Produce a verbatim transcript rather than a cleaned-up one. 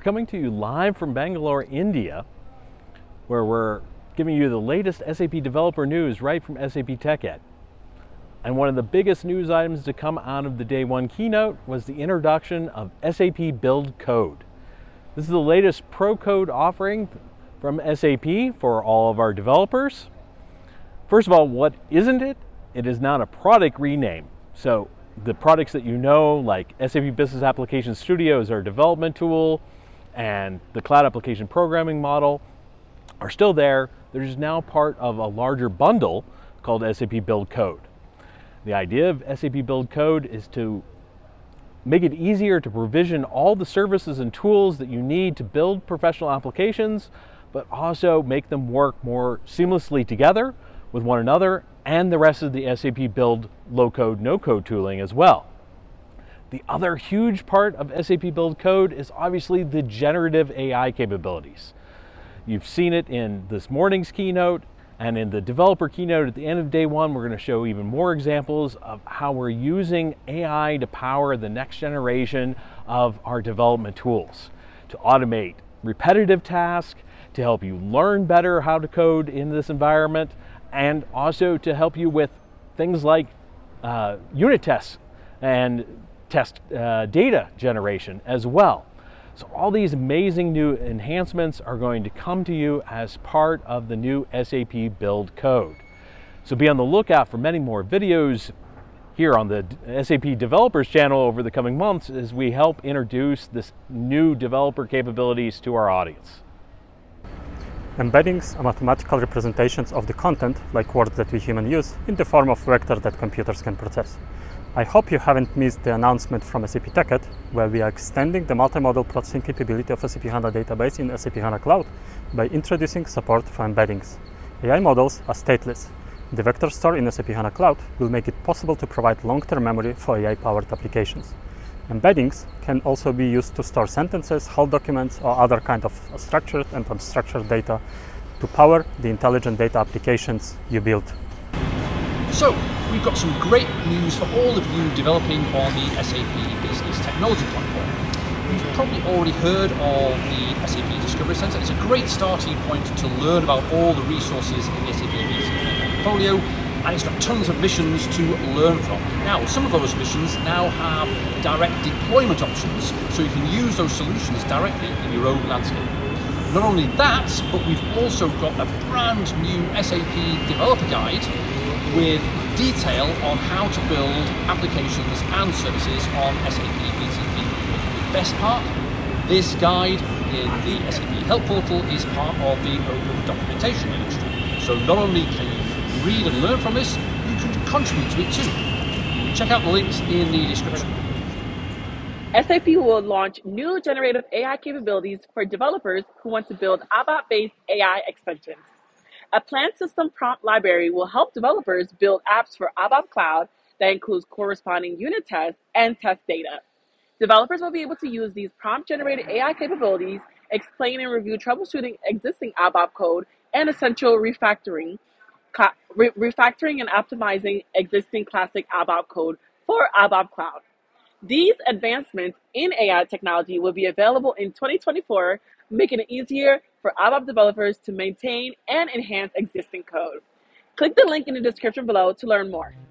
coming to you live from Bangalore, India, where we're giving you the latest S A P developer news right from S A P TechEd. And one of the biggest news items to come out of the day one keynote was the introduction of S A P Build Code. This is the latest pro code offering from S A P for all of our developers. First of all, what isn't it? It is not a product rename. So the products that you know, like S A P Business Application Studio is our development tool, and the Cloud Application Programming Model are still there. They're just now part of a larger bundle called S A P Build Code. The idea of S A P Build Code is to make it easier to provision all the services and tools that you need to build professional applications, but also make them work more seamlessly together with one another and the rest of the S A P Build low-code, no-code tooling as well. The other huge part of S A P Build Code is obviously the generative A I capabilities. You've seen it in this morning's keynote, and in the developer keynote at the end of day one, we're going to show even more examples of how we're using A I to power the next generation of our development tools, to automate repetitive tasks, to help you learn better how to code in this environment, and also to help you with things like uh, unit tests and test uh, data generation as well. So all these amazing new enhancements are going to come to you as part of the new S A P Build Code. So be on the lookout for many more videos here on the S A P Developers channel over the coming months as we help introduce this new developer capabilities to our audience. Embeddings are mathematical representations of the content, like words that we humans use, in the form of vectors that computers can process. I hope you haven't missed the announcement from S A P TechEd, where we are extending the multimodal processing capability of S A P HANA database in S A P HANA Cloud by introducing support for embeddings. A I models are stateless. The vector store in S A P HANA Cloud will make it possible to provide long-term memory for A I-powered applications. Embeddings can also be used to store sentences, whole documents, or other kind of structured and unstructured data to power the intelligent data applications you build. So, we've got some great news for all of you developing on the S A P Business Technology Platform. You've probably already heard of the S A P Discovery Center. It's a great starting point to learn about all the resources in the S A P B C P portfolio, and it's got tons of missions to learn from. Now, some of those missions now have direct deployment options, so you can use those solutions directly in your own landscape. Not only that, but we've also got a brand new S A P developer guide with detail on how to build applications and services on S A P B T P. The best part, this guide in the S A P Help Portal is part of the open documentation industry. So not only can you read and learn from this, you can contribute to it too. Check out the links in the description. S A P will launch new generative A I capabilities for developers who want to build ABAP-based A I extensions. A planned system prompt library will help developers build apps for ABAP Cloud that includes corresponding unit tests and test data. Developers will be able to use these prompt-generated A I capabilities, explain and review troubleshooting existing ABAP code, and essential refactoring, re refactoring and optimizing existing classic ABAP code for ABAP Cloud. These advancements in A I technology will be available in twenty twenty-four, making it easier for ABAP developers to maintain and enhance existing code. Click the link in the description below to learn more.